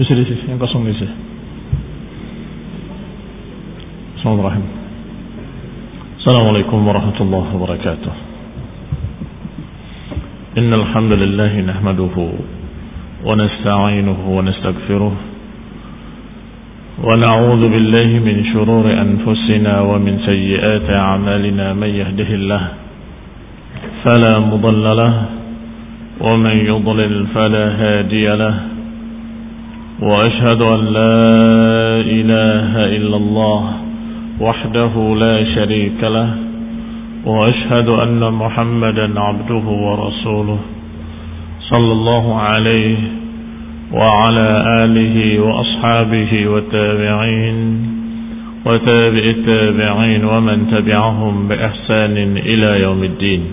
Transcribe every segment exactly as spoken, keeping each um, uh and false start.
Bisa di sini, yang kosong di sini. Bismillahirrahmanirrahim. Assalamualaikum warahmatullahi wabarakatuh. Innal hamdalillah nahmaduhu wa nasta'inuhu wa nastaghfiruh wa na'udzu billahi min shururi anfusina wa min sayyiati a'malina man yahdihillahu fala mudilla lahu wa man yudlil fala hadiya lahu. وأشهد أن لا إله إلا الله وحده لا شريك له وأشهد أن محمدا عبده ورسوله صلى الله عليه وعلى آله وأصحابه والتابعين وتابع التابعين ومن تبعهم بإحسان إلى يوم الدين.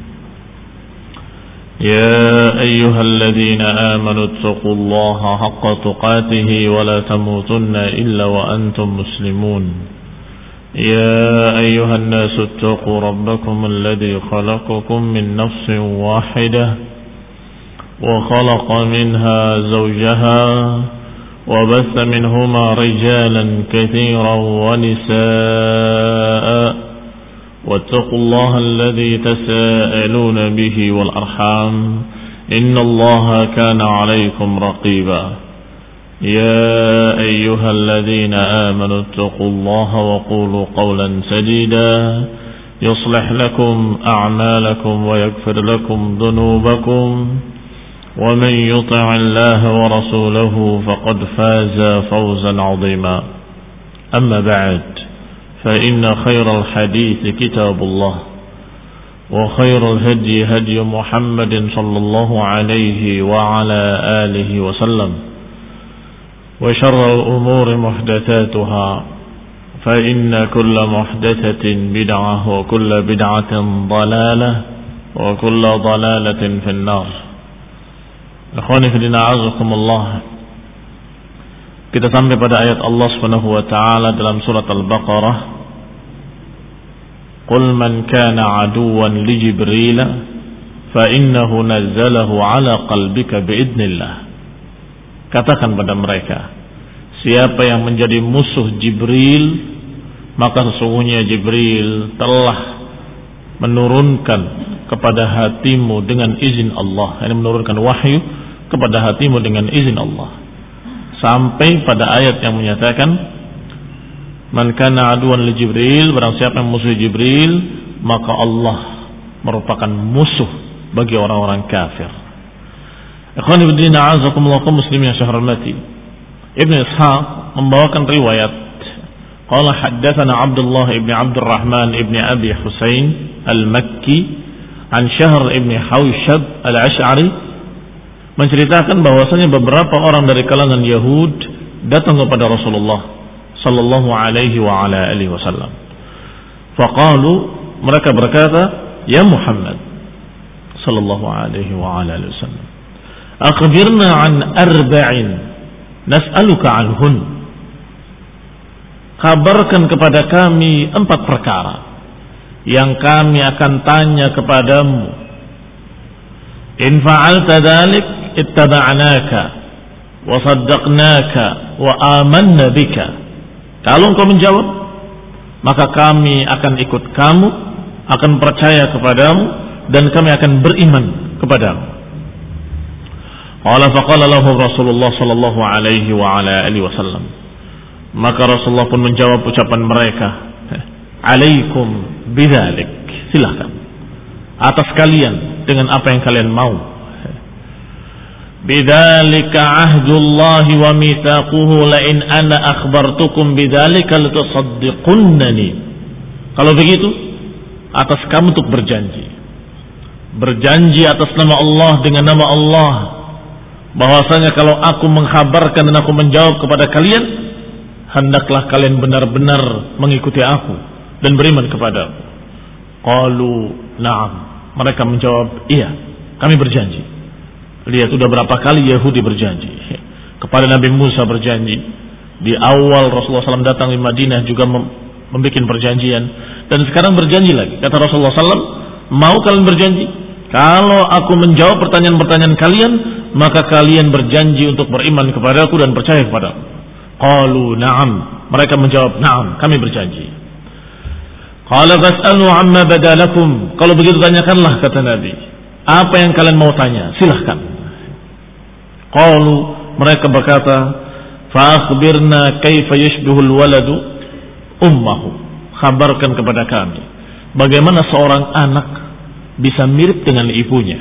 يا أيها الذين آمنوا اتقوا الله حق تقاته ولا تموتن إلا وأنتم مسلمون. يا أيها الناس اتقوا ربكم الذي خلقكم من نفس واحدة وخلق منها زوجها وبث منهما رجالا كثيرا ونساء واتقوا الله الذي تساءلون به والأرحام إن الله كان عليكم رقيبا. يا أيها الذين آمنوا اتقوا الله وقولوا قولا سديدا يصلح لكم أعمالكم ويغفر لكم ذنوبكم ومن يطع الله ورسوله فقد فاز فوزا عظيما. أما بعد فإن خير الحديث كتاب الله وخير الهدي هدي محمد صلى الله عليه وعلى آله وسلم وشر الأمور محدثاتها فإن كل محدثة بدعة وكل بدعة ضلالة وكل ضلالة في النار. Ikhwani fillah a'azzakum Allah. Kita sampai pada ayat Allah Subhanahu wa taala dalam surat Al-Baqarah. Qul man kana aduwwan li Jibril fa innahu nazzalahu ala qalbika biidznillah. Katakan pada mereka, siapa yang menjadi musuh Jibril, maka sesungguhnya Jibril telah menurunkan kepada hatimu dengan izin Allah. Ini menurunkan wahyu kepada hatimu dengan izin Allah. Sampai pada ayat yang menyatakan man kana aduwan li Jibril, barang siapa yang musuh Jibril, maka Allah merupakan musuh bagi orang-orang kafir. Ikhwani fillah a'azzakumullah muslimin yang saya hormati. Ibnu Ishaq membawakan riwayat qala haddatsana Abdullah ibn Abdurrahman ibn Abi Husain al-Makki an Syahr ibn Hawshab al-Ash'ari, menceritakan bahwasanya beberapa orang dari kalangan Yahud datang kepada Rasulullah sallallahu alaihi wa ala alihi wasallam. Faqalu, mereka berkata, ya Muhammad sallallahu alaihi wa ala alihi wasallam, akhbirna an arba'in nas'aluka anhun. Kabarkan kepada kami empat perkara yang kami akan tanya kepadamu. In fa'alta dzalik ittaba'naka wa saddaqnaka wa amanna bika. Kalau engkau menjawab, maka kami akan ikut kamu, akan percaya kepadamu, dan kami akan beriman kepadamu. Qala faqala lahu Rasulullah sallallahu alaihi wa ala alihi wasallam. Maka Rasulullah pun menjawab ucapan mereka, alaikum bidzalik, silakan atas kalian dengan apa yang kalian mau. Bidzalika ahdullahi wa mitsaquhu la in ana akhbartukum bidzalika latusaddiqunnani. Kalau begitu, atas kamu untuk berjanji. Berjanji atas nama Allah, dengan nama Allah, bahwasanya kalau aku mengkhabarkan dan aku menjawab kepada kalian, hendaklah kalian benar-benar mengikuti aku dan beriman kepadaku. Qalu na'am. Mereka menjawab, iya, kami berjanji. Lihat, sudah berapa kali Yahudi berjanji kepada Nabi Musa, berjanji di awal Rasulullah shallallahu alaihi wasallam datang di Madinah juga membuat perjanjian, dan sekarang berjanji lagi. Kata Rasulullah shallallahu alaihi wasallam, mau kalian berjanji, kalau aku menjawab pertanyaan-pertanyaan kalian, maka kalian berjanji untuk beriman kepadaku dan percaya kepadaku. Qalu na'am. Mereka menjawab, na'am, kami berjanji. Qala fas'alu amma badalakum. Kalau begitu tanyakanlah, kata Nabi, apa yang kalian mau tanya, silahkan. Qalu, mereka berkata, fa akhbirna kaifa yushbihul waladu ummahu. Khabarkan kepada kami bagaimana seorang anak bisa mirip dengan ibunya.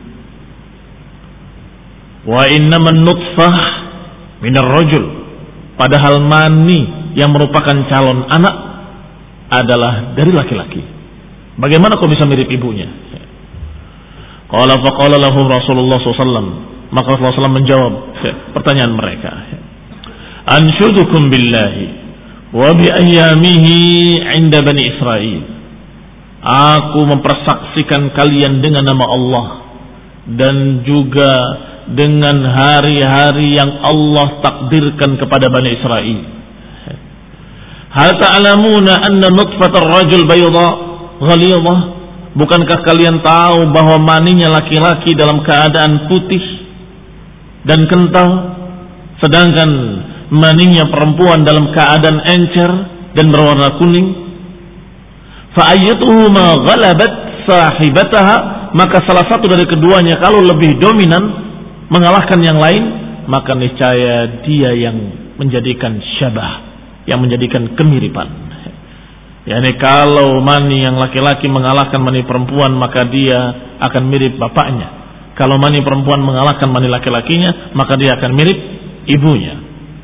Wa innaman nutfah minar rajul. Padahal mani yang merupakan calon anak adalah dari laki-laki. Bagaimana kau bisa mirip ibunya? Qala faqala lahum Rasulullah sallallahu alaihi wasallam. Maka Rasulullah sallallahu alaihi wasallam menjawab pertanyaan mereka. Anshudukum billahi wa bi ayyamihi 'inda Bani Israil. Aku mempersaksikan kalian dengan nama Allah dan juga dengan hari-hari yang Allah takdirkan kepada Bani Israil. Hal ta'lamuna anna nutfatar rajul bayda ghalidhah? Bukankah kalian tahu bahwa maninya laki-laki dalam keadaan putih dan kental, sedangkan maninya perempuan dalam keadaan encer dan berwarna kuning? Fa ayyatuhuma ghalabat sahibataha, maka salah satu dari keduanya kalau lebih dominan mengalahkan yang lain, maka niscaya dia yang menjadikan syabah, yang menjadikan kemiripan. Yani kalau mani yang laki-laki mengalahkan mani perempuan, maka dia akan mirip bapaknya. Kalau mani perempuan mengalahkan mani laki-lakinya, maka dia akan mirip ibunya.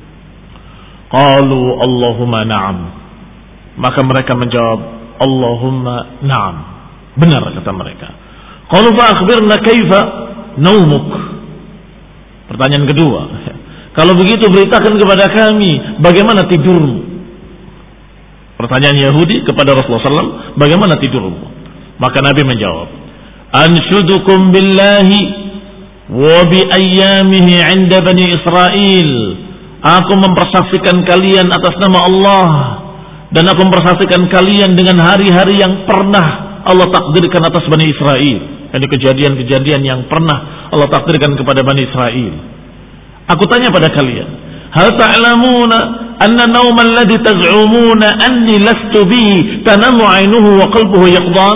Qalu Allahumma na'am. Maka mereka menjawab, Allahumma na'am. Benar kata mereka. Qalu fa akhbirna kaifa naumuk. Pertanyaan kedua, kalau begitu beritakan kepada kami bagaimana tidurmu. Pertanyaan Yahudi kepada Rasulullah sallallahu alaihi wasallam, bagaimana tidurmu? Maka Nabi menjawab, anshudukum billahi wa bi ayyamihi 'inda Bani Israil. Aku mempersaksikan kalian atas nama Allah dan aku mempersaksikan kalian dengan hari-hari yang pernah Allah takdirkan atas Bani Israil. Ini kejadian-kejadian yang pernah Allah takdirkan kepada Bani Israil. Aku tanya pada kalian, hal ta'lamuna anna nawma alladhi taz'umuna anni lastu bihi tanamu 'ainuhu wa qalbuhu yaqdan?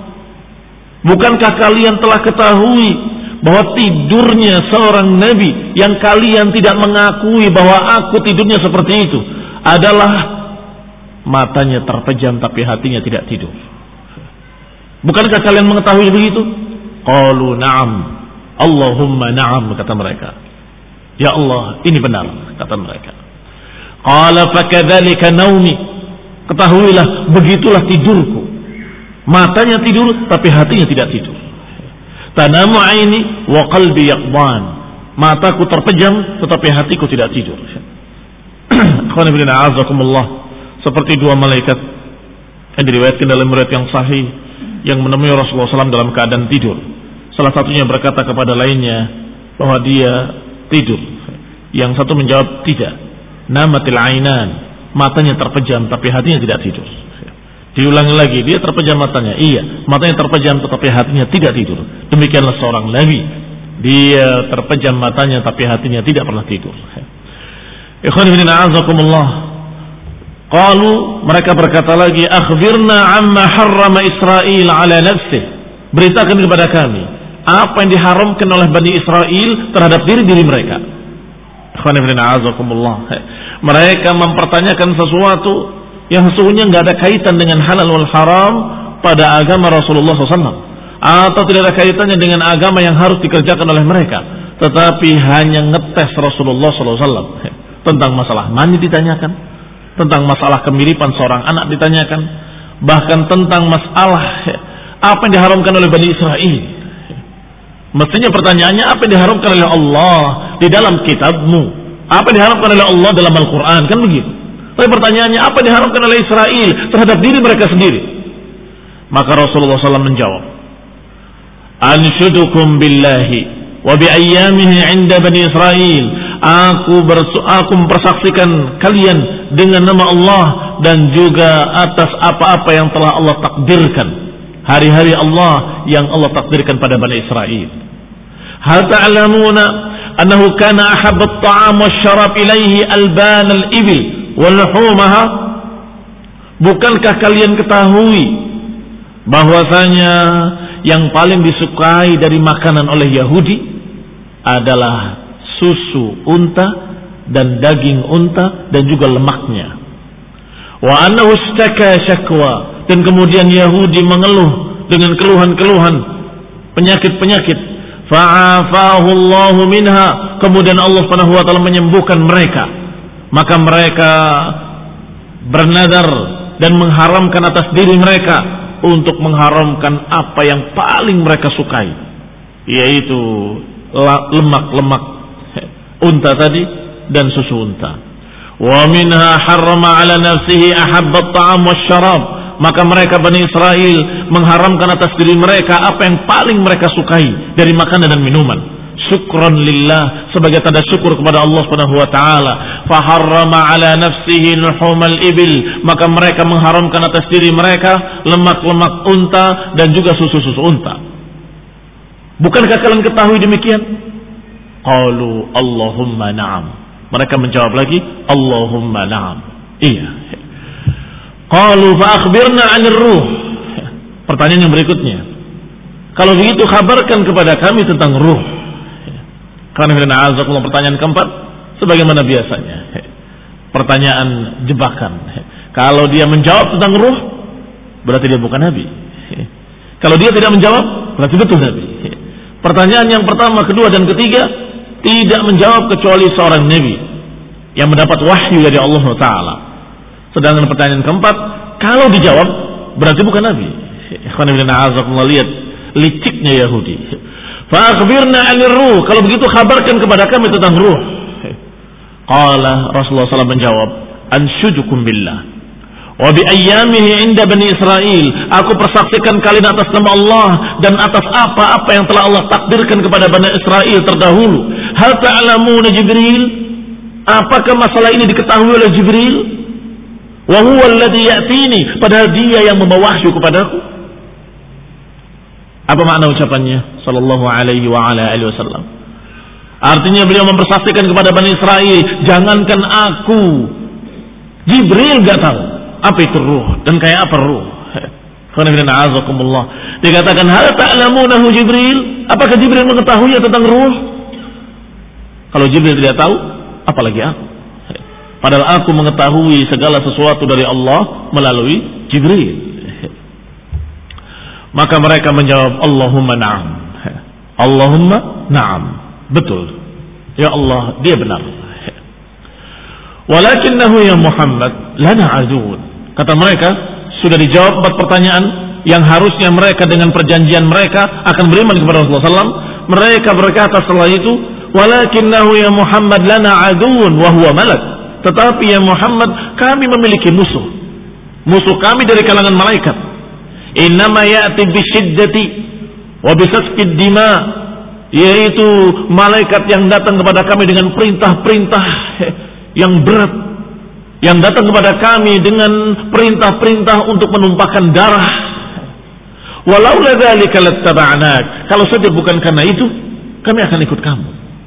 Bukankah kalian telah ketahui bahwa tidurnya seorang nabi yang kalian tidak mengakui bahwa aku tidurnya seperti itu adalah matanya terpejam tapi hatinya tidak tidur? Bukankah kalian mengetahui begitu? Qalu na'am. Allahumma na'am, kata mereka. Ya Allah, ini benar, kata mereka. Qala fakadzalika naumi. Ketahuilah, begitulah tidurku. Matanya tidur tapi hatinya tidak tidur. Tanamu aini wa qalbi yaqdan. Mataku terpejam tetapi hatiku tidak tidur. Qul inna a'azakumullah. Seperti dua malaikat yang diriwayatkan dalam riwayat yang sahih yang menemui Rasulullah sallallahu alaihi wasallam dalam keadaan tidur. Salah satunya berkata kepada lainnya bahwa dia tidur. Yang satu menjawab tidak. Namatil ainan, matanya terpejam tapi hatinya tidak tidur. Diulangi lagi, dia terpejam matanya. Iya, matanya terpejam tetapi hatinya tidak tidur. Demikianlah seorang nabi, dia terpejam matanya tapi hatinya tidak pernah tidur. Ikhwan fillah a'azakumullah. Qalu, mereka berkata lagi, akhbirna amma harrama Israel ala nafsih. Beritakan kepada kami apa yang diharamkan oleh Bani Israel terhadap diri-diri mereka. Mereka mempertanyakan sesuatu yang sesungguhnya nggak ada kaitan dengan halal wal haram pada agama Rasulullah sallallahu alaihi wasallam, atau tidak ada kaitannya dengan agama yang harus dikerjakan oleh mereka, tetapi hanya ngetes Rasulullah sallallahu alaihi wasallam. Tentang masalah mani ditanyakan, tentang masalah kemiripan seorang anak ditanyakan, bahkan tentang masalah apa yang diharamkan oleh Bani Israel. Mestinya pertanyaannya, apa yang diharamkan oleh Allah di dalam kitabmu, apa yang diharamkan oleh Allah dalam Al-Quran, kan begitu. Tapi pertanyaannya, apa yang diharamkan oleh Israel terhadap diri mereka sendiri? Maka Rasulullah sallallahu alaihi wasallam menjawab, anshudukum billahi wa bi ayyamihi 'inda Bani Israel. Aku bersu- aku mempersaksikan kalian dengan nama Allah dan juga atas apa-apa yang telah Allah takdirkan, hari-hari Allah yang Allah takdirkan pada Bani Israel. Hal ta'lamuna annahu kana ahabba at-ta'am wasyarab ilaihi alban al-ibil wa luhumaha? Bukankah kalian ketahui bahwasanya yang paling disukai dari makanan oleh Yahudi adalah susu unta dan daging unta dan juga lemaknya. Wa annahu istaka syakwa, dan kemudian Yahudi mengeluh dengan keluhan-keluhan, penyakit-penyakit. Fa'afahu Allahu minha, kemudian Allah Subhanahu wa taala menyembuhkan mereka. Maka mereka bernadar dan mengharamkan atas diri mereka untuk mengharamkan apa yang paling mereka sukai, yaitu lemak-lemak unta tadi dan susu unta. Wa minha harrama ala nafsihi ahabba at-ta'am wasyarab, maka mereka Bani Israel mengharamkan atas diri mereka apa yang paling mereka sukai dari makanan dan minuman. Syukran lillah, sebagai tanda syukur kepada Allah Subhanahu wa taala. Fa harrama ala nafsihi luhumal ibil, maka mereka mengharamkan atas diri mereka lemak-lemak unta dan juga susu-susu unta. Bukankah kalian ketahui demikian? Qalu Allahumma na'am. Mereka menjawab lagi, Allahumma na'am. Iya. Qalu fa akhbirna 'anir ruh. Pertanyaan yang berikutnya, kalau begitu kabarkan kepada kami tentang ruh. Karena pertanyaan keempat, sebagaimana biasanya, pertanyaan jebakan. Kalau dia menjawab tentang ruh, berarti dia bukan nabi. Kalau dia tidak menjawab, berarti betul nabi. Pertanyaan yang pertama, kedua, dan ketiga tidak menjawab kecuali seorang nabi yang mendapat wahyu dari Allah Taala. Sedangkan pertanyaan keempat, kalau dijawab, berarti bukan nabi. Lihat liciknya Yahudi. Fa akhbirna 'anir ruh, kalau begitu kabarkan kepada kami tentang ruh. Qala Rasulullah sallallahu alaihi wasallam menjawab, anshudukum billah wa bi ayyamihi 'inda bani Israil, aku persaksikan kalian atas nama Allah dan atas apa-apa yang telah Allah takdirkan kepada Bani Israel terdahulu. Hal ta'lamuna Jibril, apakah masalah ini diketahui oleh Jibril? Wa huwa alladhi ya'tini, padahal dia yang membawa wahyu kepadaku. Apa makna ucapannya sallallahu alaihi wa ala alihi wasallam? Artinya beliau mempersaksikan kepada Bani Israel, jangankan aku, Jibril enggak tahu apa itu ruh dan kayak apa ruh. Dikatakan hal ta'lamunahu Jibril, apakah Jibril mengetahui tentang ruh? Kalau Jibril tidak tahu, apalagi aku. Padahal aku mengetahui segala sesuatu dari Allah melalui Jibril. Maka mereka menjawab, Allahumma na'am. Allahumma na'am. Betul. Ya Allah, dia benar. Walakinnahu ya Muhammad lana aduun. Kata mereka, sudah dijawab empat pertanyaan yang harusnya mereka dengan perjanjian mereka akan beriman kepada Rasulullah sallallahu alaihi wasallam. Mereka berkata setelah itu, walakinnahu ya Muhammad lana aduun wa huwa malak. Tetapi ya Muhammad, kami memiliki musuh. Musuh kami dari kalangan malaikat. Innama ya'ti bisyiddati wa bisasfid dima, yaitu malaikat yang datang kepada kami dengan perintah-perintah yang berat, yang datang kepada kami dengan perintah-perintah untuk menumpahkan darah. Walau ladzalika lattaba'nak, kalau saja bukan karena itu kami akan ikut kamu.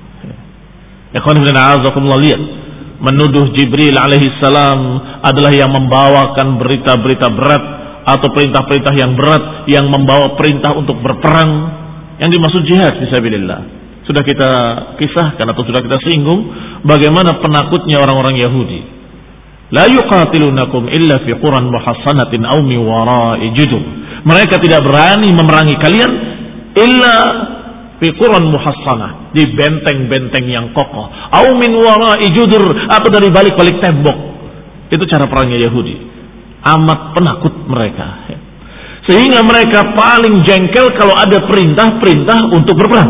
Ikhwan fillah, a'azakumullah, lihat, menuduh Jibril alaihi salam adalah yang membawakan berita-berita berat atau perintah-perintah yang berat, yang membawa perintah untuk berperang, yang dimaksud jihad fisabilillah. Sudah kita kisahkan atau sudah kita singgung bagaimana penakutnya orang-orang Yahudi. La yuqatilunakum illa fi quran muhassanatin aw min wara'i judur. Mereka tidak berani memerangi kalian illa fi quran muhassanah, di benteng-benteng yang kokoh, aw min wara'i judur, atau dari balik-balik tembok. Itu cara perangnya Yahudi. Amat penakut mereka, sehingga mereka paling jengkel kalau ada perintah-perintah untuk berperang.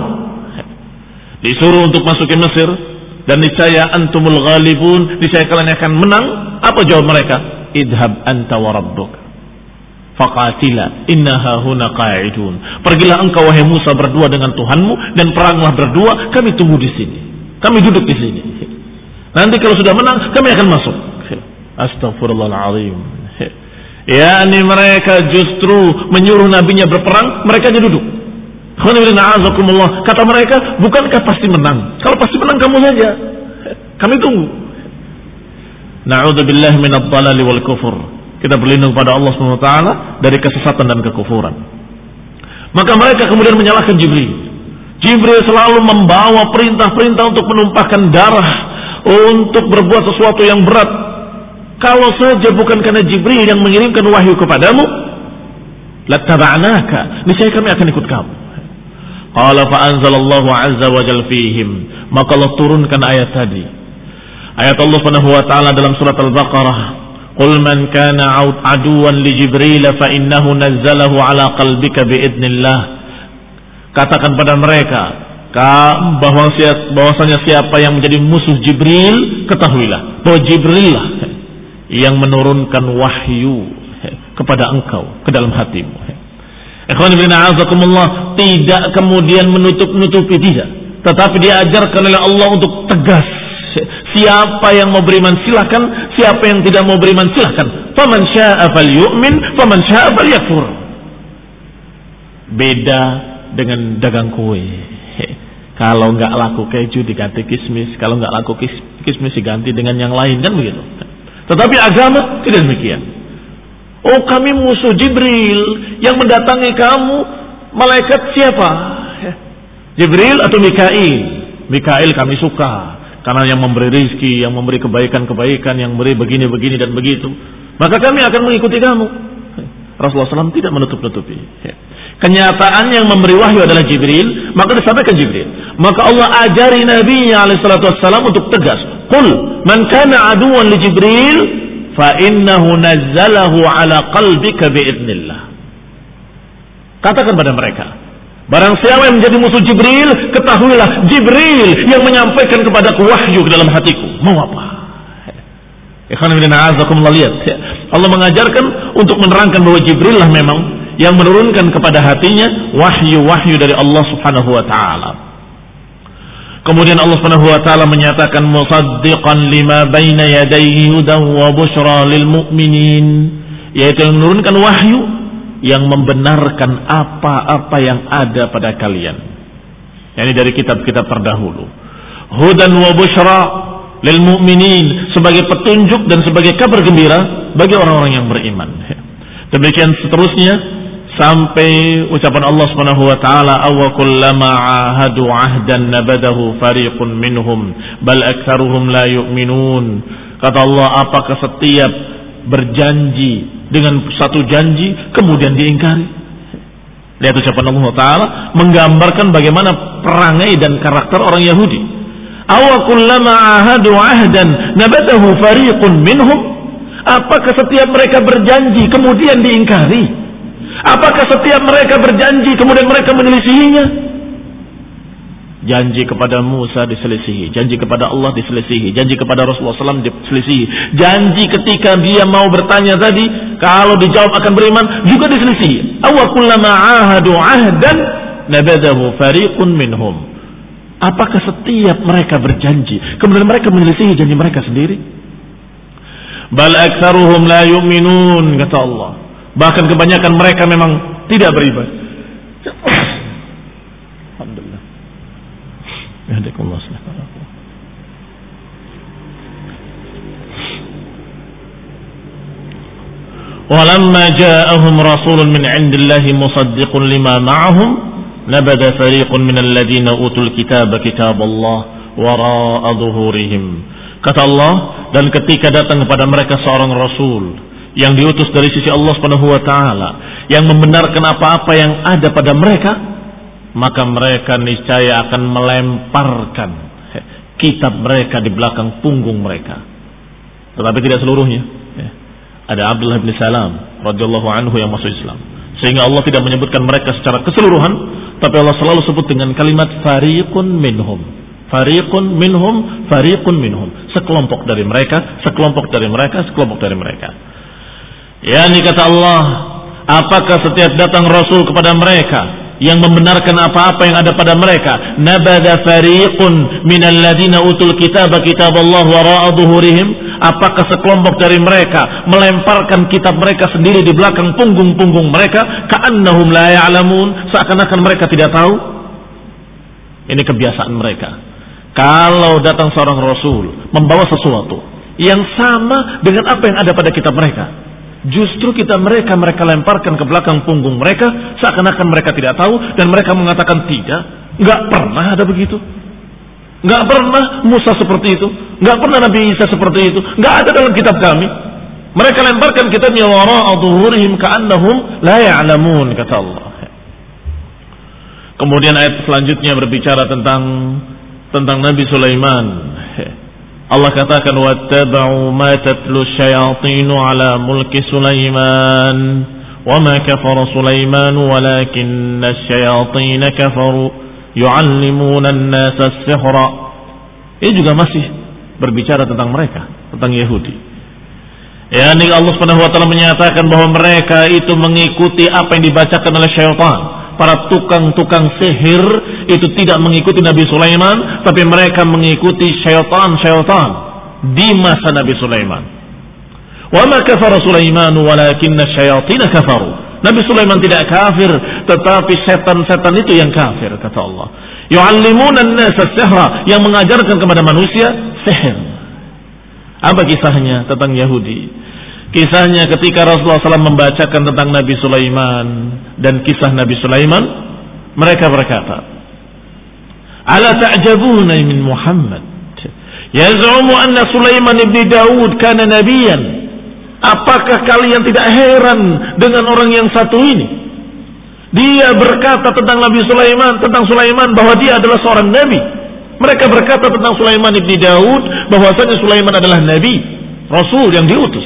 Disuruh untuk masuk ke Mesir dan niscaya antumul ghalibun, niscaya kalian akan menang. Apa jawab mereka? Idhab anta wa rabbuk faqatila inna hahuna qa'idun. Pergilah engkau wahai Musa berdua dengan Tuhanmu dan peranglah berdua, kami tunggu di sini, kami duduk di sini. Nanti kalau sudah menang kami akan masuk. Astaghfirullahaladzim. Ya, ini mereka justru menyuruh nabinya berperang, mereka aja duduk. Kata mereka, bukankah pasti menang? Kalau pasti menang kamu saja, kami tunggu. Na'udzubillah minadh dhalali wal kufur. Kita berlindung pada Allah Subhanahu wa taala dari kesesatan dan kekufuran. Maka mereka kemudian menyalahkan Jibril. Jibril selalu membawa perintah-perintah untuk menumpahkan darah, untuk berbuat sesuatu yang berat. Kalau saja bukan karena Jibril yang mengirimkan wahyu kepadamu, lattaba'naka, niscaya kami akan ikut kamu. Qala fa anzalallahu azza wa jalla fihim, maka Allah turunkan ayat tadi. Ayat Allah Subhanahu wa taala dalam surat Al-Baqarah, qul man kana aduwan li Jibril fa innahu nazzalahu ala qalbika biidznillah. Katakan pada mereka bahwa bahwasanya siapa yang menjadi musuh Jibril, ketahuilah bahwa Jibril lah yang menurunkan wahyu kepada engkau ke dalam hatimu. Ikhwan fillah a'azakumullah, tidak kemudian menutup-nutupi, tidak, tetapi diajarkan oleh Allah untuk tegas. Siapa yang mau beriman silahkan, siapa yang tidak mau beriman silahkan. Faman syaa'a falyu'min, faman syaa'a falyakfur. Beda dengan dagang kue. Kalau nggak laku keju diganti kismis, kalau nggak laku kismis diganti dengan yang lain, kan begitu. Tetapi agama tidak demikian. Oh, kami musuh Jibril, yang mendatangi kamu malaikat siapa? Jibril atau Mikail? Mikail kami suka karena yang memberi rizki, yang memberi kebaikan-kebaikan, yang memberi begini-begini dan begitu. Maka kami akan mengikuti kamu. Rasulullah shallallahu alaihi wasallam tidak menutup-nutupi. Kenyataan yang memberi wahyu adalah Jibril, maka disampaikan Jibril. Maka Allah ajari Nabi-Nya alaihi salatu wassalam untuk tegas. Qul man kana aduwan li Jibril fa innahu nazzalahu ala qalbika biidznillah. Katakan pada mereka, barang siapa yang menjadi musuh Jibril, ketahuilah Jibril yang menyampaikan kepadaku wahyu ke dalam hatiku. Mau apa? Ikhwan fillah a'azakumullah, lihat. Allah mengajarkan untuk menerangkan bahwa Jibril lah memang yang menurunkan kepada hatinya wahyu-wahyu dari Allah Subhanahu wa taala. Kemudian Allah Subhanahu wa taala menyatakan musaddiqan lima baina yadayhi hudan wa busyra lil mu'minin, yaitu yang menurunkan wahyu yang membenarkan apa-apa yang ada pada kalian. Yani dari kitab-kitab terdahulu. Hudan wa busyra lil mu'minin, sebagai petunjuk dan sebagai kabar gembira bagi orang-orang yang beriman. Demikian seterusnya sampai ucapan Allah Subhanahu wa taala, aw kullama ahadu ahdan nabadahu fariqun minhum bal aktsaruhum la yu'minun. Kata Allah, apakah setiap berjanji dengan satu janji kemudian diingkari? Lihat ucapan Allah taala menggambarkan bagaimana perangai dan karakter orang Yahudi. Aw kullama ahadu ahdan nabadahu fariqun minhum. Apakah setiap mereka berjanji kemudian diingkari? Apakah setiap mereka berjanji kemudian mereka menyelisihinya? Janji kepada Musa diselisihi, janji kepada Allah diselisihi, janji kepada Rasulullah shallallahu alaihi wasallam diselisihi, janji ketika dia mau bertanya tadi kalau dijawab akan beriman juga diselisihi. Aw kullama ahadu ahdan nabadahu fariqun minhum. Apakah setiap mereka berjanji kemudian mereka menyelisihi janji mereka sendiri? Bal aktsaruhum la yu'minun, kata Allah. Bahkan kebanyakan mereka memang tidak beriman. Alhamdulillah. Yahdikumullah subhanahu. Walamma ja'ahum rasulun min 'indillahi musaddiqun lima ma'ahum nabada fariqun minal ladzina utul kitaba kitaballah wara'a dhuhurihim. Kata Allah, dan ketika datang kepada mereka seorang rasul yang diutus dari sisi Allah Subhanahu wa taala yang membenarkan apa-apa yang ada pada mereka, maka mereka niscaya akan melemparkan kitab mereka di belakang punggung mereka. Tetapi tidak seluruhnya. Ada Abdullah bin Salam radhiyallahu anhu yang masuk Islam. Sehingga Allah tidak menyebutkan mereka secara keseluruhan, tapi Allah selalu sebut dengan kalimat fariqun minhum. Fariqun minhum, fariqun minhum. Sekelompok dari mereka, sekelompok dari mereka, sekelompok dari mereka. Ya, ini kata Allah, apakah setiap datang Rasul kepada mereka yang membenarkan apa-apa yang ada pada mereka, nabada fariqun minal ladina utul kitaba kitaballah wara'a dhuhurihim, Apakah sekelompok dari mereka melemparkan kitab mereka sendiri di belakang punggung-punggung mereka, ka'annahum la ya'lamun, seakan-akan mereka tidak tahu? Ini kebiasaan mereka. Kalau datang seorang rasul membawa sesuatu yang sama dengan apa yang ada pada kitab mereka, justru kita mereka mereka lemparkan ke belakang punggung mereka, seakan-akan mereka tidak tahu, dan mereka mengatakan tidak, nggak pernah ada begitu. Nggak pernah Musa seperti itu, nggak pernah Nabi Isa seperti itu, nggak ada dalam kitab kami. Mereka lemparkan kitabnya wara'a dhuhurihim ka'annahum la ya'lamun, kata Allah. Kemudian ayat selanjutnya berbicara tentang tentang Nabi Sulaiman. Allah katakan wattaba'u ma tatlu syayatinu ala mulki Sulaiman wa ma kafara Sulaiman walakinna asyayatin kafaru yu'allimuna an-nasa as-sihra. Ini juga masih berbicara tentang mereka, tentang Yahudi. Ya, ini Allah Subhanahu wa taala menyatakan bahwa mereka itu mengikuti apa yang dibacakan oleh syaitan. Para tukang-tukang sihir itu tidak mengikuti Nabi Sulaiman, tapi mereka mengikuti syaitan-syaitan di masa Nabi Sulaiman. Wa ma kafara Sulaiman walakinna asyayatin kafaru. Nabi Sulaiman tidak kafir, tetapi setan-setan itu yang kafir, kata Allah. Yu'allimuna an-nasa as-sihra, yang mengajarkan kepada manusia sihir. Apa kisahnya tentang Yahudi? Kisahnya ketika Rasulullah shallallahu alaihi wasallam membacakan tentang Nabi Sulaiman dan kisah Nabi Sulaiman, mereka berkata, "Ala ta'jabuna min Muhammad? Yaz'umu anna Sulaiman ibn Daud kana nabiyyan." Apakah kalian tidak heran dengan orang yang satu ini? Dia berkata tentang Nabi Sulaiman, tentang Sulaiman bahwa dia adalah seorang nabi. Mereka berkata tentang Sulaiman ibn Daud bahwasanya Sulaiman adalah nabi, rasul yang diutus.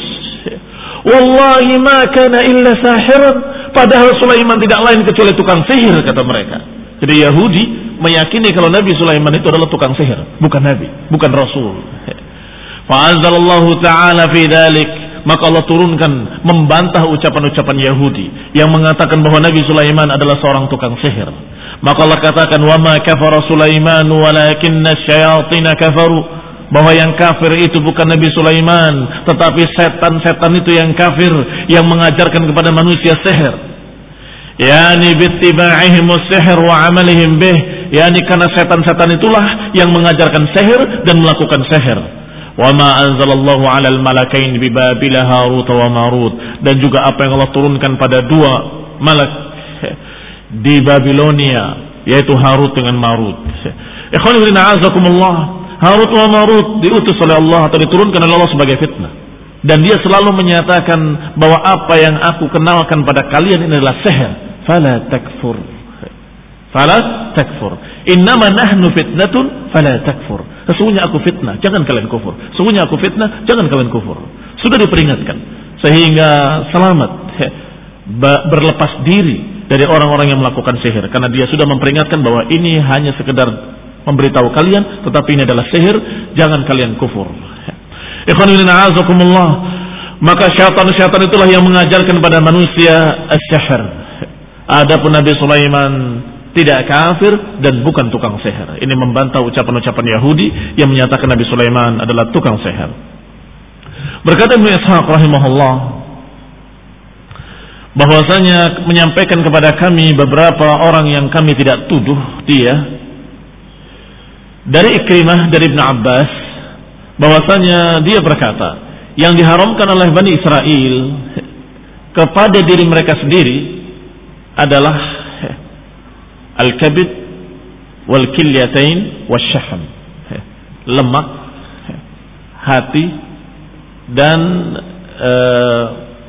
Wallahi ma kana illa sahiran, padahal Sulaiman tidak lain kecuali tukang sihir, kata mereka. Jadi Yahudi meyakini kalau Nabi Sulaiman itu adalah tukang sihir, bukan nabi, bukan rasul. Fa anzalallahu ta'ala fi dzalik, maka Allah turunkan membantah ucapan-ucapan Yahudi yang mengatakan bahwa Nabi Sulaiman adalah seorang tukang sihir. Maka Allah katakan wa ma kafara Sulaiman walakinna asyayatin kafaru, bahwa yang kafir itu bukan Nabi Sulaiman, tetapi setan-setan itu yang kafir, yang mengajarkan kepada manusia sihir. Yani bittiba'ihim as-sihr wa 'amalihim bih, yani karena setan-setan itulah yang mengajarkan sihir dan melakukan sihir. Wa ma anzalallahu 'alal malakain bi Babila Harut wa Marut, dan juga apa yang Allah turunkan pada dua malak di Babilonia, yaitu Harut dengan Marut. Ikhwan fillah, a'azakumullah, Harut wa Marut diutus oleh Allah atau diturunkan oleh Allah sebagai fitnah, dan dia selalu menyatakan bahwa apa yang aku kenalkan pada kalian ini adalah sihir. Fala takfur, fala takfur, innama nahnu fitnatun fala takfur. Sesungguhnya aku fitnah, jangan kalian kufur. Sesungguhnya aku fitnah, jangan kalian kufur. Sudah diperingatkan sehingga selamat berlepas diri dari orang-orang yang melakukan sihir, karena dia sudah memperingatkan bahwa ini hanya sekedar memberitahu kalian, tetapi ini adalah sihir, jangan kalian kufur. Ikhwan fillah, a'azakumullah, maka syaitan-syaitan itulah yang mengajarkan pada manusia as-sihr. Adapun Nabi Sulaiman tidak kafir dan bukan tukang sihir. Ini membantah ucapan-ucapan Yahudi yang menyatakan Nabi Sulaiman adalah tukang sihir. Berkata Ibnu Ishaq rahimahullah, bahwasanya menyampaikan kepada kami beberapa orang yang kami tidak tuduh dia, dari Ikrimah, dari Ibnu Abbas, bahwasanya dia berkata, yang diharamkan oleh Bani Israel kepada diri mereka sendiri adalah al-kabid wal-kilyatain wasyahm, lemak, hati, dan uh,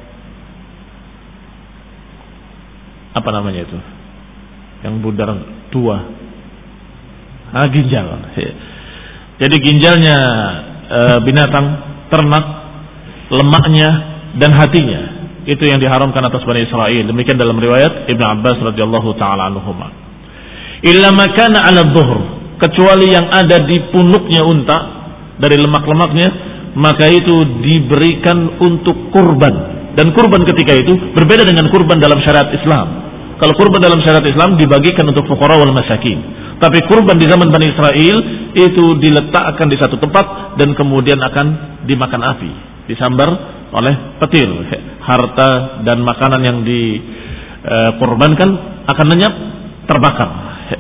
apa namanya itu yang budar dua, ah, ginjal. Jadi ginjalnya uh, binatang ternak, lemaknya dan hatinya, itu yang diharamkan atas Bani Israel. Demikian dalam riwayat Ibnu Abbas radhiyallahu taala anhuma. Illa makana 'ala dhuhr, kecuali yang ada di punuknya unta dari lemak-lemaknya, maka itu diberikan untuk kurban. Dan kurban ketika itu berbeda dengan kurban dalam syariat Islam. Kalau kurban dalam syariat Islam dibagikan untuk fuqara wal masakin, Tapi kurban di zaman Bani Israel itu diletakkan di satu tempat dan kemudian akan dimakan api, disambar oleh petir. Harta dan makanan yang dikurbankan akan lenyap, terbakar.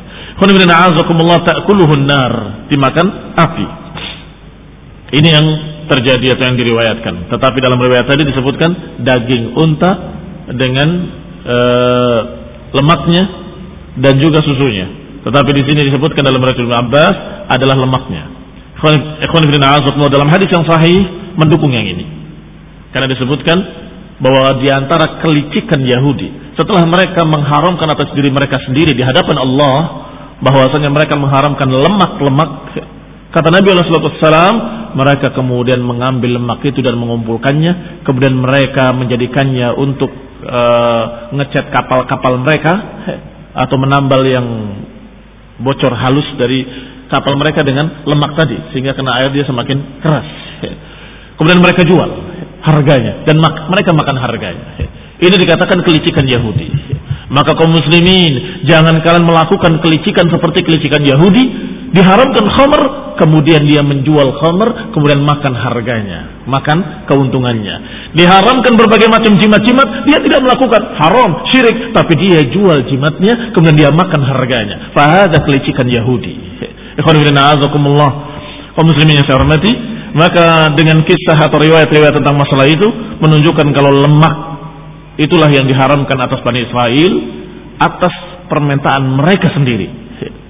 Ta'kuluhun nar, dimakan api. Ini yang terjadi atau yang diriwayatkan. Tetapi dalam riwayat tadi disebutkan daging unta dengan e, lemaknya dan juga susunya. Tetapi di sini disebutkan dalam riwayat Ibnu Abbas adalah lemaknya. Ikhwan fillah a'azakumullah, dalam hadis yang sahih mendukung yang ini. Karena disebutkan bahwa di antara kelicikan Yahudi setelah mereka mengharamkan atas diri mereka sendiri di hadapan Allah bahwasanya mereka mengharamkan lemak-lemak, kata Nabi sallallahu alaihi wasallam, mereka kemudian mengambil lemak itu dan mengumpulkannya, kemudian mereka menjadikannya untuk uh, ngecat kapal-kapal mereka atau menambal yang bocor halus dari kapal mereka dengan lemak tadi sehingga kena air dia semakin keras. Kemudian mereka jual harganya dan mak- mereka makan harganya. Ini dikatakan kelicikan Yahudi. Maka kaum muslimin, jangan kalian melakukan kelicikan seperti kelicikan Yahudi. Diharamkan khamr, kemudian dia menjual khamr, kemudian makan harganya, makan keuntungannya. Diharamkan berbagai macam jimat-jimat, dia tidak melakukan haram, syirik, tapi dia jual jimatnya, kemudian dia makan harganya. Fahadha kelicikan Yahudi. Ikhwan fillah a'azakumullah, kaum muslimin yang saya hormati, maka dengan kisah atau riwayat-riwayat tentang masalah itu menunjukkan kalau lemak itulah yang diharamkan atas Bani Israel atas permintaan mereka sendiri.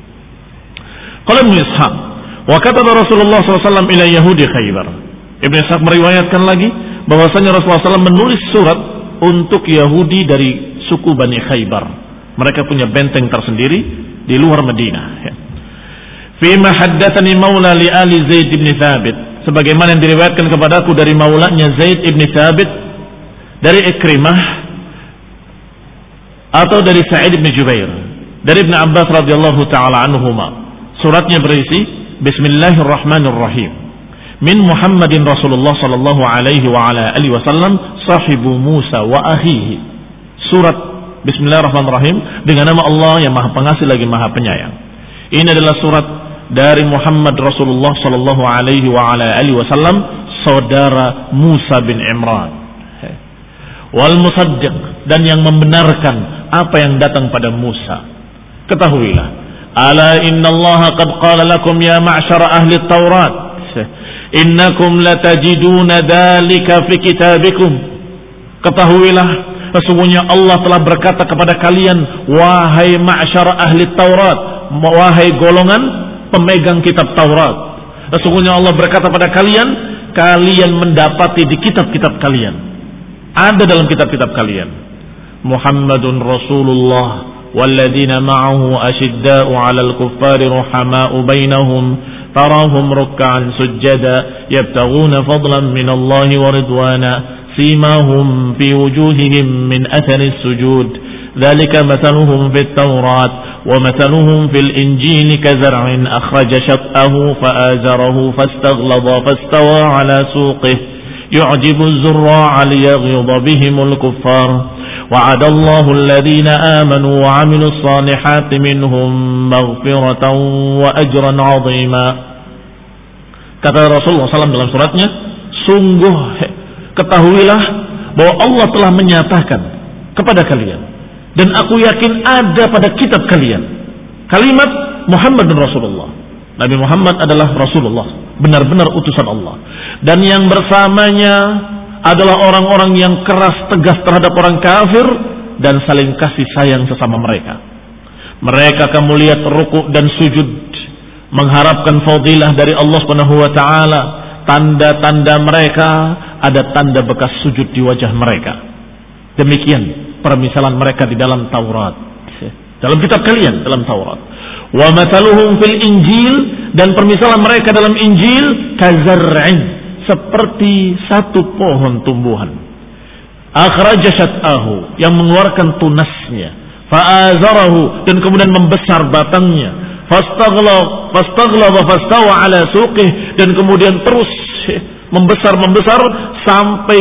Qala Ibnu Ishaq, wa kataba Rasulullah sallallahu alaihi wasallam ila Yahudi Khaybar. Ibnu Ishaq meriwayatkan lagi bahwasanya Rasulullah sallallahu alaihi wasallam menulis surat untuk Yahudi dari suku Bani Khaybar. Mereka punya benteng tersendiri di luar Madinah. Fi ma haddatsani maula li ali Zaid bin Thabit, sebagaimana yang diriwayatkan kepadaku dari maulanya Zaid bin Thabit dari Ikrimah atau dari Sa'id bin Jubair dari Ibnu Abbas radhiyallahu taala anhuma. Suratnya berisi Bismillahirrahmanirrahim. Min Muhammadin Rasulullah sallallahu alaihi wa ala alihi wasallam sahibu Musa wa akhihi. Surat Bismillahirrahmanirrahim dengan nama Allah yang Maha Pengasih lagi Maha Penyayang. Ini adalah surat dari Muhammad Rasulullah sallallahu alaihi wa ala alihi wasallam, saudara Musa bin Imran. Wal musaddiq, dan yang membenarkan apa yang datang pada Musa. Ketahuilah, ala inna Allah qad qala lakum ya ma'syara ahli Taurat innakum latajiduna dhalika fi kitabikum. Ketahuilah, sesungguhnya Allah telah berkata kepada kalian, wahai ma'syara ahli Taurat, wahai golongan pemegang kitab Taurat, sesungguhnya Allah berkata pada kalian, kalian mendapati di kitab-kitab kalian, ada dalam kitab-kitab kalian, Muhammadun Rasulullah والذين معه أشداء على الكفار رحماء بينهم تراهم ركعا سجدا يبتغون فضلا من الله ورضوانا سيماهم في وجوههم من أثر السجود ذلك مثلهم في التوراة ومثلهم في الإنجيل كزرع أخرج شطأه فآزره فاستغلظ فاستوى على سوقه يعجب الزراع ليغيظ بهم الكفار وعد الله الذين آمنوا وعملوا الصالحات منهم مغفرة وأجرا عظيما. Kata Rasulullah sallallahu alaihi wasallam dalam suratnya, sungguh ketahuilah bahwa Allah telah menyatakan kepada kalian, dan aku yakin ada pada kitab kalian kalimat Muhammad dan Rasulullah. Nabi Muhammad adalah Rasulullah, benar-benar utusan Allah, dan yang bersamanya adalah orang-orang yang keras tegas terhadap orang kafir dan saling kasih sayang sesama mereka. Mereka kamu lihat rukuk dan sujud mengharapkan fadilah dari Allah Subhanahu wa taala. Tanda-tanda mereka, ada tanda bekas sujud di wajah mereka. Demikian permisalan mereka di dalam Taurat. Dalam kitab kalian, dalam Taurat. Wa mathaluhum fil Injil, dan permisalan mereka dalam Injil kazar'in, seperti satu pohon tumbuhan, akhraja syat'ahu, yang mengeluarkan tunasnya, fa'azarahu, dan kemudian membesar batangnya, fastaghlab fastaghlab fastawa ala suqih, dan kemudian terus membesar-membesar sampai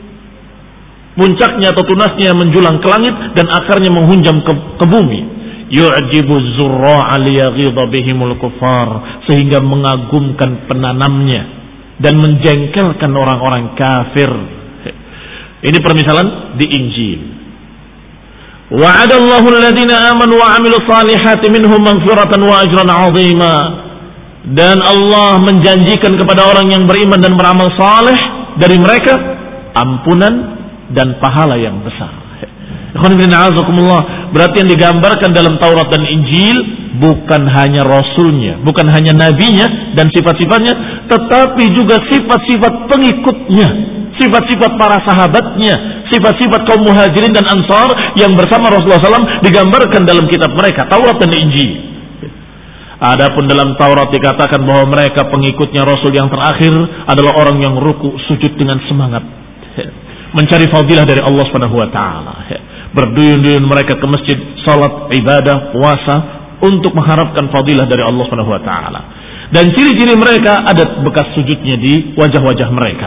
puncaknya atau tunasnya menjulang ke langit dan akarnya menghunjam ke, ke bumi. yu'jibu zurra'a liyaghidha bihimul kuffar, sehingga mengagumkan penanamnya dan menjengkelkan orang-orang kafir. Ini permisalan di Injil. Wa'adallahu alladhina amanu wa 'amilus salihati minhum maghfiratan wa ajran 'azima. Dan Allah menjanjikan kepada orang yang beriman dan beramal saleh dari mereka ampunan dan pahala yang besar. Berarti yang digambarkan dalam Taurat dan Injil bukan hanya rasulnya, bukan hanya nabinya dan sifat-sifatnya, tetapi juga sifat-sifat pengikutnya, sifat-sifat para sahabatnya, sifat-sifat kaum muhajirin dan ansar yang bersama Rasulullah shallallahu alaihi wasallam digambarkan dalam kitab mereka, Taurat dan Injil. Adapun dalam Taurat dikatakan bahwa mereka pengikutnya Rasul yang terakhir adalah orang yang ruku sujud dengan semangat, mencari fadilah dari Allah Subhanahu wa taala. Berduyun-duyun mereka ke masjid, salat, ibadah, puasa untuk mengharapkan fadilah dari Allah Subhanahu wa taala. Dan ciri-ciri mereka ada bekas sujudnya di wajah-wajah mereka.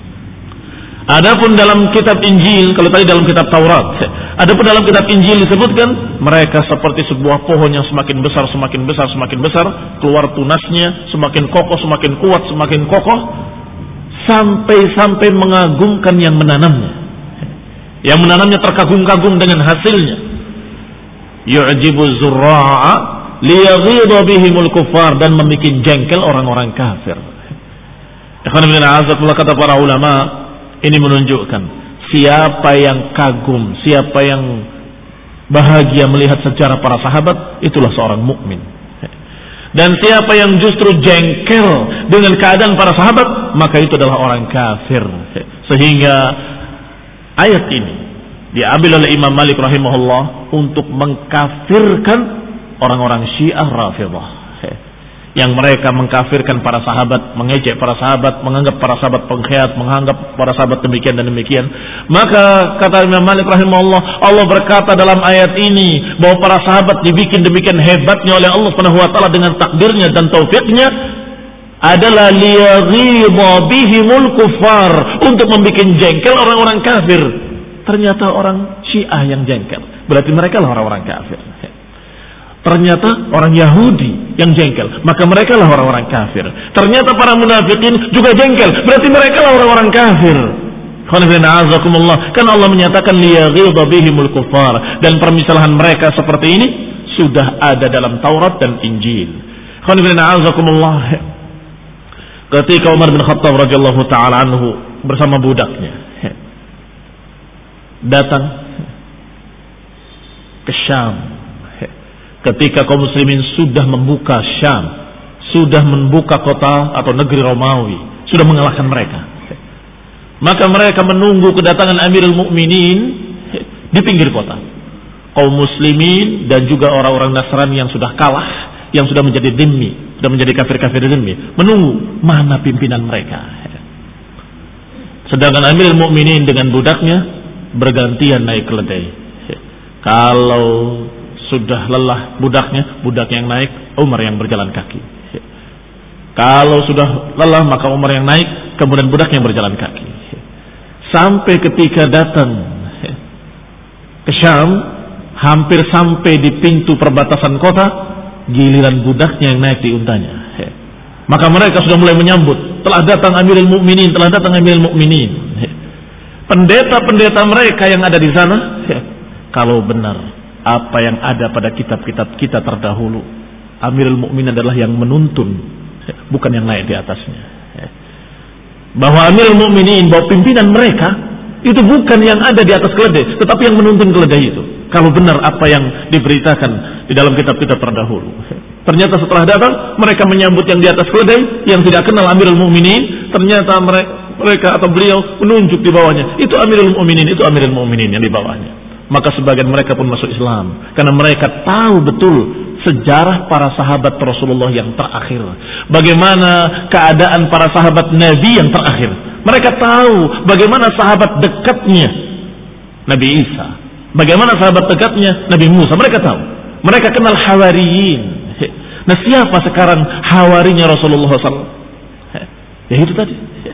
Adapun dalam kitab Injil, kalau tadi dalam kitab Taurat, adapun dalam kitab Injil disebutkan mereka seperti sebuah pohon yang semakin besar, semakin besar, semakin besar, keluar tunasnya, semakin kokoh, semakin kuat, semakin kokoh, sampai-sampai mengagumkan yang menanamnya. Yang menanamnya terkagum-kagum dengan hasilnya. Yu'jibu zurra'a liyaghidha bihimul kuffar, dan membuat jengkel orang-orang kafir. Ikhwan fillah, azakumullah, kata para ulama, ini menunjukkan siapa yang kagum, siapa yang bahagia melihat sejarah para sahabat, itulah seorang mukmin. Dan siapa yang justru jengkel dengan keadaan para sahabat, maka itu adalah orang kafir. Sehingga ayat ini diambil oleh Imam Malik rahimahullah untuk mengkafirkan orang-orang Syiah Rafidhah, yang mereka mengkafirkan para sahabat, mengejek para sahabat, menganggap para sahabat pengkhianat, menganggap para sahabat demikian dan demikian. Maka kata Imam Malik rahimahullah, Allah berkata dalam ayat ini bahwa para sahabat dibikin demikian hebatnya oleh Allah Subhanahu wa taala dengan takdirnya dan taufiknya adalah liyaghidha bihimul kuffar, untuk membuat jengkel orang-orang kafir. Ternyata orang Syiah yang jengkel, berarti mereka lah orang-orang kafir. Ternyata orang Yahudi yang jengkel, maka mereka lah orang-orang kafir. Ternyata para munafikin juga jengkel, berarti mereka lah orang-orang kafir. Kan Allah menyatakan liyaghidha bihimul kuffar, dan permisalahan mereka seperti ini sudah ada dalam Taurat dan Injil. Ketika Umar bin Khattab radhiyallahu taala anhu bersama budaknya datang ke Syam, ketika kaum muslimin sudah membuka Syam, sudah membuka kota atau negeri Romawi, sudah mengalahkan mereka, maka mereka menunggu kedatangan Amirul Mukminin di pinggir kota. Kaum muslimin dan juga orang-orang Nasrani yang sudah kalah, yang sudah menjadi dhimmi, sudah menjadi kafir-kafir dhimmi, menunggu mana pimpinan mereka. Sedangkan Amirul Mukminin dengan budaknya bergantian naik keledai. Kalau sudah lelah budaknya, budak yang naik, Umar yang berjalan kaki. Kalau sudah lelah, maka Umar yang naik, kemudian budak yang berjalan kaki. Sampai ketika datang ke Syam, hampir sampai di pintu perbatasan kota, giliran budaknya yang naik di untanya. Maka mereka sudah mulai menyambut, telah datang Amirul Mukminin, telah datang Amirul Mukminin. Pendeta-pendeta mereka yang ada di sana, kalau benar apa yang ada pada kitab-kitab kita terdahulu, Amirul Mukminin adalah yang menuntun, bukan yang naik di atasnya. Bahwa Amirul Mukminin, bahwa pimpinan mereka itu bukan yang ada di atas keledai, tetapi yang menuntun keledai itu. Kalau benar apa yang diberitakan di dalam kitab-kitab terdahulu. Ternyata setelah datang, mereka menyambut yang di atas keledai, yang tidak kenal Amirul Mukminin. Ternyata mereka, mereka atau beliau menunjuk di bawahnya, itu Amirul Mukminin, itu Amirul Mukminin yang di bawahnya. Maka sebagian mereka pun masuk Islam, karena mereka tahu betul sejarah para sahabat Rasulullah yang terakhir, bagaimana keadaan para sahabat Nabi yang terakhir. Mereka tahu bagaimana sahabat dekatnya Nabi Isa, bagaimana sahabat dekatnya Nabi Musa. Mereka tahu, mereka kenal Hawariyin. Nah, siapa sekarang hawarinya Rasulullah shallallahu alaihi wasallam? Ya itu tadi,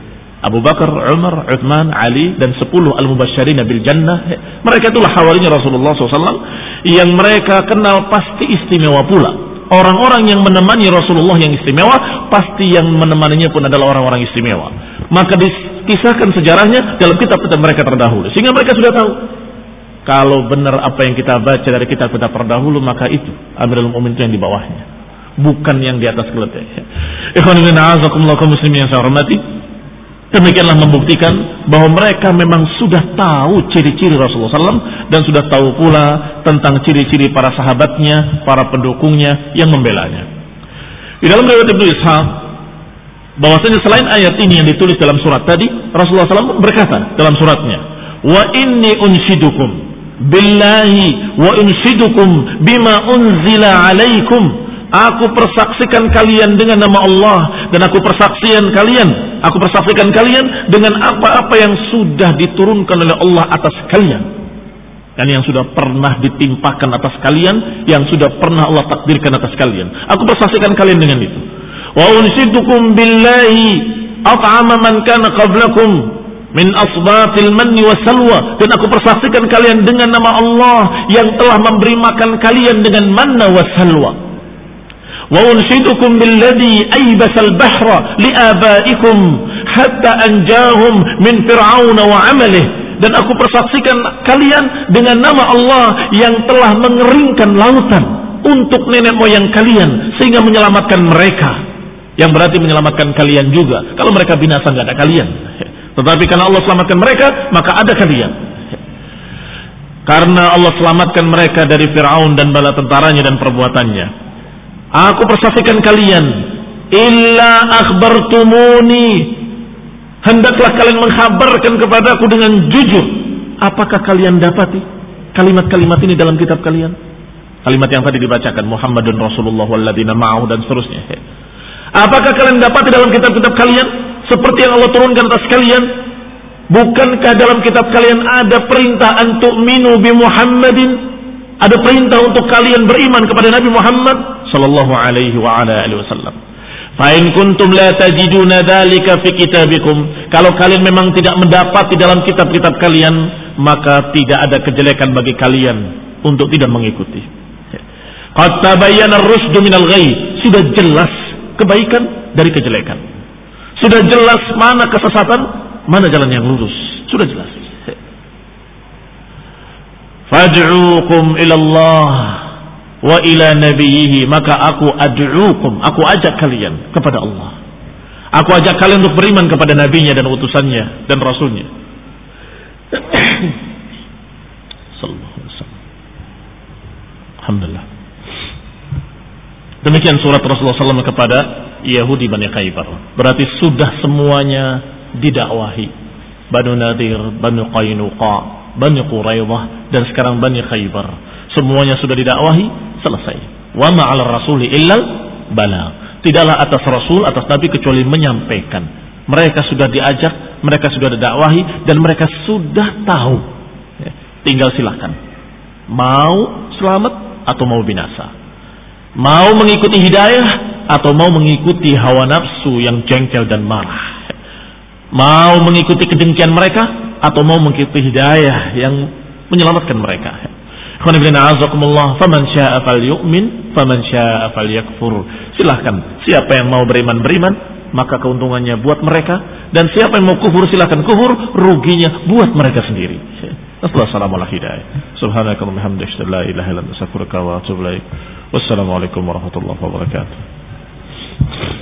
Abu Bakar, Umar, Uthman, Ali, dan sepuluh al-mubasysyirin bil jannah. Mereka itulah hawarinya Rasulullah shallallahu alaihi wasallam yang mereka kenal pasti istimewa pula. Orang-orang yang menemani Rasulullah yang istimewa, pasti yang menemaninya pun adalah orang-orang istimewa. Maka dikisahkan sejarahnya dalam kitab-kitab mereka terdahulu, sehingga mereka sudah tahu kalau benar apa yang kita baca dari kitab-kitab terdahulu, maka itu Amirul Mukminin itu yang di bawahnya, bukan yang di atas keletanya. Ikhwan fillah, a'azakumullah kaum muslimin yang saya hormati. Demikianlah membuktikan bahwa mereka memang sudah tahu ciri-ciri Rasulullah shallallahu alaihi wasallam dan sudah tahu pula tentang ciri-ciri para sahabatnya, para pendukungnya yang membelanya. Di dalam riwayat Ibnu Ishaq, bahwasanya selain ayat ini yang ditulis dalam surat tadi, Rasulullah shallallahu alaihi wasallam berkata dalam suratnya, wa inni unshidukum billahi wa unshidukum bima unzila alaikum. Aku persaksikan kalian dengan nama Allah, dan aku persaksikan kalian, aku persaksikan kalian dengan apa-apa yang sudah diturunkan oleh Allah atas kalian, dan yang sudah pernah ditimpakan atas kalian, yang sudah pernah Allah takdirkan atas kalian. Aku persaksikan kalian dengan itu. Wa unshidukum billahi at'ama man kana qablakum min asbatil manni wasalwa, dan aku persaksikan kalian dengan nama Allah yang telah memberi makan kalian dengan manna wasalwa. Wa unshidukum billadhi aybasal bahra liabaikum hatta anjahum min fir'aun wa amalih, dan aku persaksikan kalian dengan nama Allah yang telah mengeringkan lautan untuk nenek moyang kalian sehingga menyelamatkan mereka, yang berarti menyelamatkan kalian juga. Kalau mereka binasa nggak ada kalian, tetapi karena Allah selamatkan mereka maka ada kalian. Karena Allah selamatkan mereka dari Fir'aun dan bala tentaranya dan perbuatannya, aku persaksikan kalian, illa akhbartumuni, hendaklah kalian mengkhabarkan kepadaku dengan jujur. Apakah kalian dapati kalimat-kalimat ini dalam kitab kalian? Kalimat yang tadi dibacakan, Muhammadun Rasulullah walladzina ma'ahu dan seterusnya. Apakah kalian dapati dalam kitab-kitab kalian seperti yang Allah turunkan atas kalian? Bukankah dalam kitab kalian ada perintah an tu'minu bi Muhammadin? Ada perintah untuk kalian beriman kepada Nabi Muhammad sallallahu alaihi wa ala alihi wasallam. Fa in kuntum la tajiduna dzalika fi kitabikum, kalau kalian memang tidak mendapati dalam kitab-kitab kalian, maka tidak ada kejelekan bagi kalian untuk tidak mengikuti. Qad tabayyana ar-rusdu minal ghayy, sudah jelas kebaikan dari kejelekan. Sudah jelas mana kesesatan, mana jalan yang lurus, sudah jelas. Fad'uukum ila Allah wa ila nabiyhi, maka aku ad'uukum, aku ajak kalian kepada Allah. Aku ajak kalian untuk beriman kepada nabinya dan utusannya dan rasulnya. Sallallahu alaihi wasallam. Alhamdulillah. Demikian surat Rasulullah sallallahu alaihi wasallam kepada Yahudi Bani Khaybar. Berarti sudah semuanya didakwahi. Banu Nadir, Banu Qainuqa, Bani Quraidah, dan sekarang Bani Khaybar. Semuanya sudah didakwahi, selesai. Wa ma'al rasuli illal balagh. Tidaklah atas rasul, atas nabi kecuali menyampaikan. Mereka sudah diajak, mereka sudah didakwahi, dan mereka sudah tahu. Ya, tinggal silakan. Mau selamat atau mau binasa. Mau mengikuti hidayah atau mau mengikuti hawa nafsu yang jengkel dan marah. Mau mengikuti kedengkian mereka atau mau mengikuti hidayah yang menyelamatkan mereka. Faman syaa falyu'min, faman syaa falyakfur. Silahkan, siapa yang mau beriman beriman, maka keuntungannya buat mereka, dan siapa yang mau kufur silahkan kufur, ruginya buat mereka sendiri. Assalamualaikum warahmatullahi wabarakatuh. Wassalamualaikum warahmatullahi wabarakatuh.